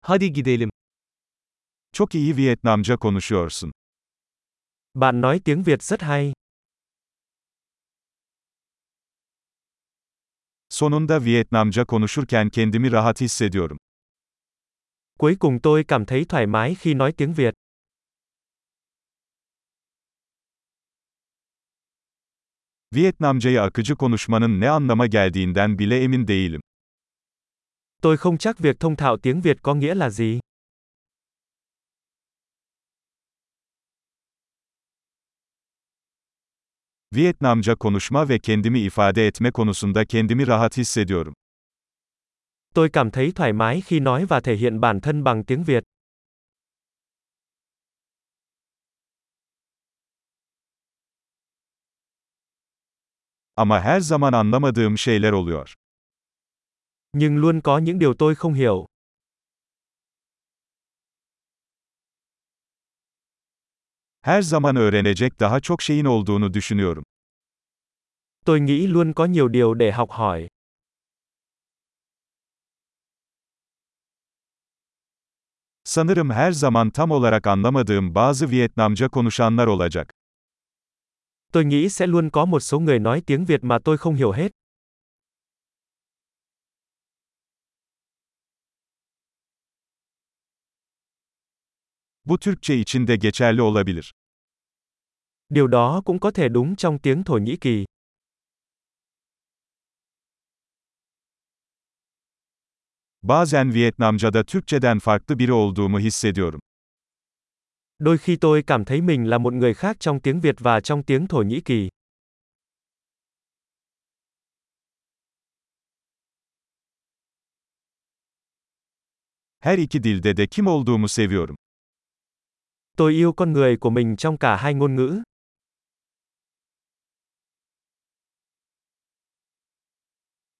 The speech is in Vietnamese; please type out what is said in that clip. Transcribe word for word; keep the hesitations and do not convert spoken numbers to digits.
Hadi gidelim. Çok iyi Vietnamca konuşuyorsun. Bạn nói tiếng Việt rất hay. Sonunda Vietnamca konuşurken kendimi rahat hissediyorum. Cuối cùng tôi cảm thấy thoải mái khi nói tiếng Việt. Vietnamcayı akıcı konuşmanın ne anlama geldiğinden bile emin değilim. Tôi không chắc việc thông thạo tiếng Việt có nghĩa là gì. Vietnamca konuşma ve kendimi ifade etme konusunda kendimi rahat hissediyorum. Tôi cảm thấy thoải mái khi nói và thể hiện bản thân bằng tiếng Việt. Ama her zaman anlamadığım şeyler oluyor. Nhưng luôn có những điều tôi không hiểu. Her zaman öğrenecek daha çok şeyin olduğunu düşünüyorum. Tôi nghĩ luôn có nhiều điều để học hỏi. Sanırım her zaman tam olarak anlamadığım bazı Vietnamca konuşanlar olacak. Tôi nghĩ sẽ luôn có một số người nói tiếng Việt mà tôi không hiểu hết. Bu Türkçe için de geçerli olabilir. Điều đó cũng có thể đúng trong tiếng Thổ Nhĩ Kỳ. Bazen Vietnamca'da Türkçeden farklı biri olduğumu hissediyorum. Đôi khi tôi cảm thấy mình là một người khác trong tiếng Việt và trong tiếng Thổ Nhĩ Kỳ. Her iki dilde de kim olduğumu seviyorum. Tôi yêu con người của mình trong cả hai ngôn ngữ.